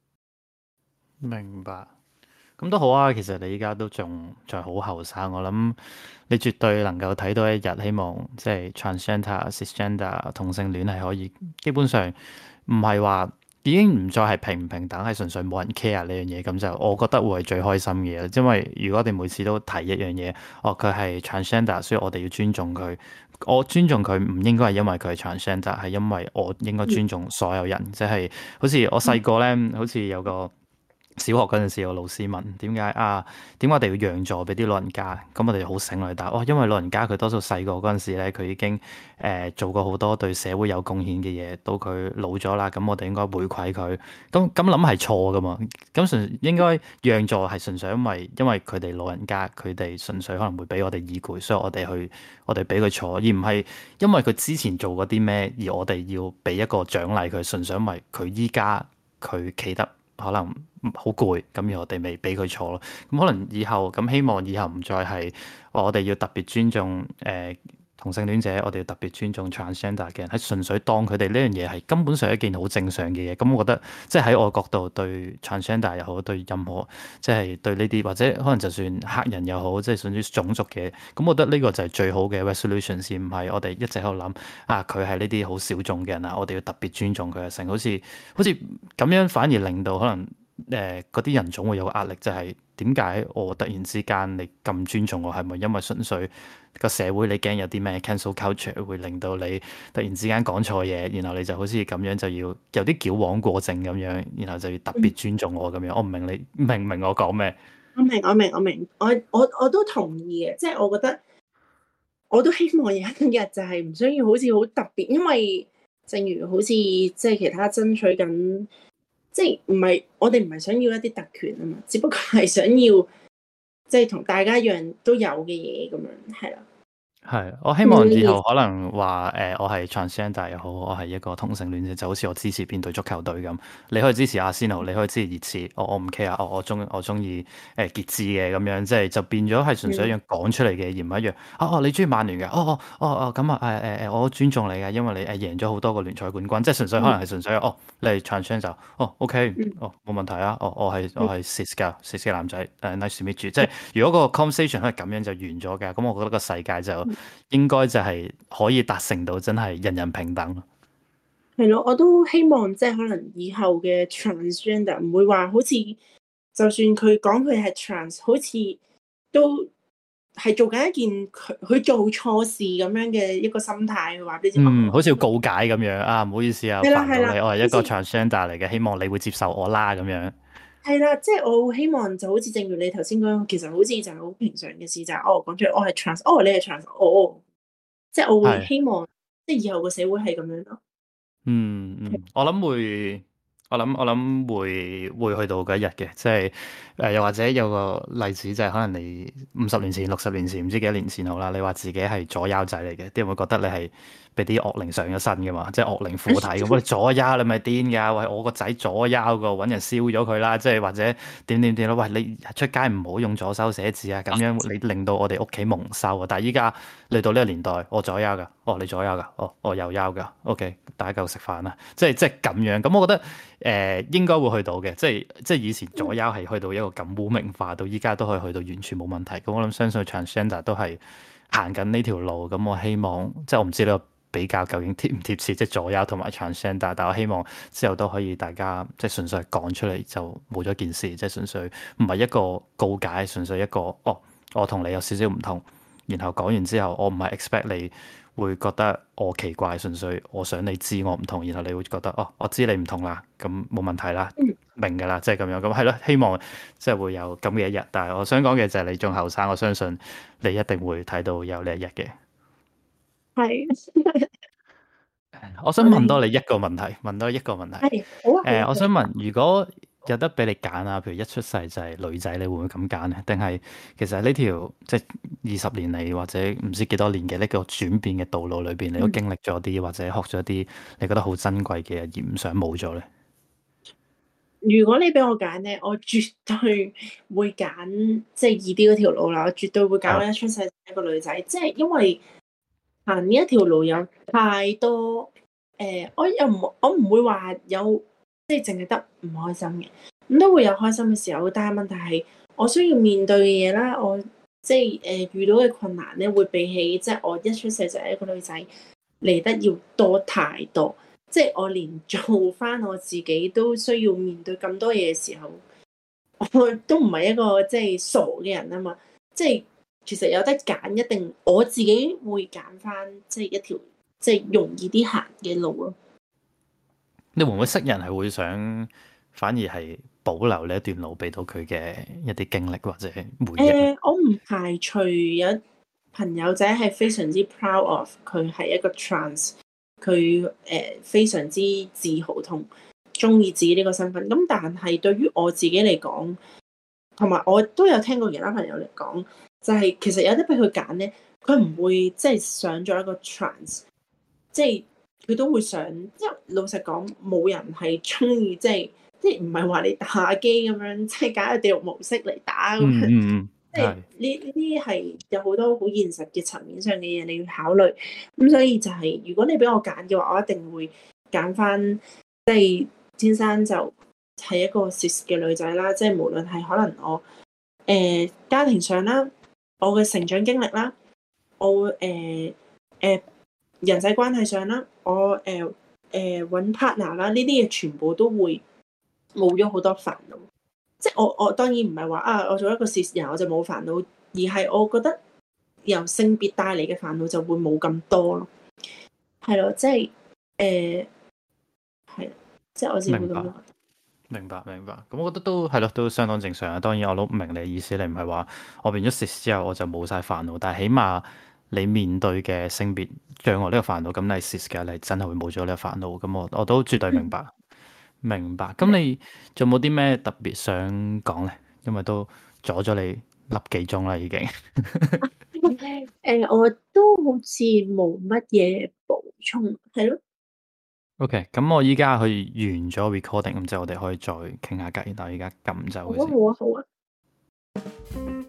明白。咁都好啊，其實你依家都仲仲係好後生，我諗你絕對能夠睇到一日，希望即係 transgender、cisgender 同性戀係可以基本上唔係話已經唔再係平唔平等，係純粹冇人 care 呢樣嘢，咁就我覺得會係最開心嘅嘢。因為如果我哋每次都提一樣嘢，哦佢係 transgender，所以我哋要尊重佢。我尊重佢唔應該係因為佢係 transgender，係因為我應該尊重所有人，即係好似我細個咧，好似有個。小學嗰陣時，有老師問點解啊？點解我哋要讓座俾啲老人家？咁我哋好醒嚟答，哦，因為老人家佢多數細個嗰陣時咧，佢已經誒、呃、做過好多對社會有貢獻嘅嘢，到佢老咗啦，咁我哋應該回饋佢。咁咁諗係錯噶嘛？咁純應該讓座係純粹因為因為佢哋老人家，佢哋純粹可能會俾我哋意見，所以我哋去我哋俾佢坐，而唔係因為佢之前做過啲咩，而我哋要俾一個獎勵佢，純粹因為佢依家佢企得。可能好攰，咁而我哋未俾佢坐咯。咁可能以後咁希望以後唔再係我哋要特別尊重誒、呃、同性戀者，我哋要特別尊重 transgender 嘅人，係純粹當佢哋呢樣嘢係根本上一件好正常嘅嘢。咁我覺得即係喺我角度對 transgender 又好，對任何即係對呢啲或者可能就算黑人又好，即係屬於種族嘅，咁我覺得呢個就係最好嘅 resolution，而唔係我哋一直喺度諗啊佢係呢啲好小眾嘅人啊，我哋要特別尊重佢嘅性，好似好似咁樣反而令到可能。誒嗰啲人總會有個壓力，就係點解我突然之間你咁尊重我？係咪因為純粹個社會你驚有啲咩 cancel culture 會令到你突然之間講錯嘢，然後你就好似咁樣就要有啲矯枉過正咁樣，然後就要特別尊重我咁樣？我唔明你明唔明我講咩？ 我明，我明，我明，我我我都同意嘅，即係我覺得我都希望有一日就係唔需要好似好特別，因為正如好似即係其他爭取緊。即係唔係我哋唔係想要一啲特權啊嘛，只不過係想要即係同大家一樣都有嘅嘢咁樣，係啦。 係，我希望以後可能話誒、呃，我係 transgender 又好，我係一個同性戀者，就好似我支持邊隊足球隊咁。你可以支持阿仙奴，你可以支持熱刺，我我唔 care，我我中我中意誒傑志嘅咁樣，即係就變咗係純粹一樣講出嚟嘅，而唔係一樣。哦哦，你中意曼聯嘅？哦哦哦哦，咁啊誒誒誒，我尊重你嘅，因為你誒贏咗好多個聯賽冠軍，即係純粹可能係純粹哦，你係 transgender，哦 OK，哦冇問題啊，哦我係我係 cis 㗎，cis 嘅男仔，誒 nice to meet you，即係如果個 conversation 係咁樣就完咗嘅，咁我覺得個世界就〜應該就係可以達成到真係人人平等咯。 係咯，我都希望即係可能以後嘅 transgender 唔會話好似，就算佢講佢係 trans，好似都係做緊一件佢佢做錯事咁樣嘅一個心態去話俾你知。 嗯，好似要告解咁樣啊，唔好意思啊， 係啦煩到你，我係一個像 transgender 嚟嘅，希望你會接受我啦咁樣。 係啦，即係我希望就好似正如你頭先講，其實好似就係好平常嘅事，就係、是、哦講出嚟，我係 trans，哦你係 trans，哦，即係我會希望，即係以後個社會係咁樣咯。 嗯嗯，我諗會，我諗我諗會會去到嗰一日嘅，即係誒又或者有個例子就係可能你五十年前、六十年前唔知幾多年前好啦，你話自己係左優仔嚟嘅，啲人會覺得你係俾啲惡靈上咗身嘅嘛，即係惡靈附體咁。喂，左優你咪癲㗎？喂，我個仔左優個，揾人燒咗佢啦！即係或者點點點咯？喂，你出街唔好用左手寫字啊！咁樣你令到我哋屋企蒙羞啊！但係依家嚟到呢個年代，我左優㗎，哦你左優㗎，哦我右優㗎，OK，大家夠食飯啦！即係即係咁樣。咁我覺得誒、呃、應該會去到嘅，即係即係以前左優係去到一個咁污名化，到依家都可以去到完全冇問題。咁我諗相信 transgender 都係行緊呢條路。咁我希望即係我唔知呢個比較究竟貼唔貼切，即係左優同埋 transgender，但我希望之後都可以大家即係純粹講出嚟就冇咗件事，即係純粹唔係一個告解，純粹一個哦，我同你有少少唔同，然後講完之後，我唔係 expect 你會覺得我奇怪，純粹我想你知我唔同，然後你會覺得哦，我知你唔同啦，咁冇問題啦，明㗎啦，即係咁樣，咁係咯，希望即係會有咁嘅一日。但係我想講嘅就係你仲後生，我相信你一定會睇到有呢一日嘅。 係我想我哋問多你一個問題，問多一個問題。 係好啊好誒、 啊，繼續講。 我想問，如果有得俾你揀啊，譬如一出世就係女仔，你會唔會咁揀呢？定係其實呢條即係二十年嚟或者唔知幾多年嘅呢個轉變嘅道路裏邊，你都嗯， 經歷咗啲或者學咗啲你覺得好珍貴嘅嘢，而唔想冇咗呢？ 如果你俾我揀咧，我絕對會揀即係易啲嗰條路啦。我絕對會揀係我一出世就係一個女仔，即係因為行呢一條路有太多誒、呃我又唔我唔會話有即係淨係得唔開心嘅，咁都會有開心嘅時候。但係問題係我需要面對嘅嘢啦，我即係誒、呃遇到嘅困難咧，會比起即係我一出世就係一個女仔嚟得要多太多。即係我連做翻我自己都需要面對咁多嘢嘅時候，我都唔係一個即係傻嘅人啊嘛。即係其實有得揀，一定我自己會揀翻即係一條即係容易啲行嘅路咯。 你會唔會識人係會想反而係保留呢一段路俾到佢嘅一啲經歷或者回憶呢？ 誒、我唔排除有朋友仔係非常之 proud of 佢係一個 trans，佢誒、非常之自豪同中意自己呢個身份。咁但係對於我自己嚟講，同埋我都有聽過其他朋友嚟講，就係、其實有得俾佢揀咧，佢唔會即係上咗一個 trans，即係佢都會想。因為老實講，冇人係中意即係即係唔係話你打機咁樣，即係揀個地獄模式嚟打咁樣。 嗯嗯嗯， 即係係。 呢呢啲係有好多好現實嘅層面上嘅嘢你要考慮。咁所以就係、如果你俾我揀嘅話，我一定會揀翻即係天生就係一個 cis 嘅女仔啦。即係無論係可能我誒、呃家庭上啦，我嘅成長經歷啦，我誒誒、人際關係上啦，我誒誒揾 partner 啦，呢啲嘢全部都會冇咗好多煩惱。即係我我當然唔係話啊，我做一個 cis 人我就冇煩惱，而係我覺得由性別帶嚟嘅煩惱就會冇咁多咯。係咯，即係誒係，即係我自己會明白。 咁樣覺得。 明白明白，咁我覺得都係咯，都相當正常啊。當然我都唔明你嘅意思，你唔係話我變咗 cis 之後我就冇晒煩惱，但係起碼你面對嘅性別障礙呢個煩惱，咁你 cis 嘅你真係會冇咗呢個煩惱。咁我我都絕對明白明白。咁你仲有冇啲咩特別想講呢？因為都阻咗你粒幾鐘啦，已經。 誒、我都好似冇乜嘢補充，係咯。 OK，咁我依家去完咗 recording，咁之後我哋可以再傾下偈。但係而家撳走好啊， 佢先。 好啊，好啊。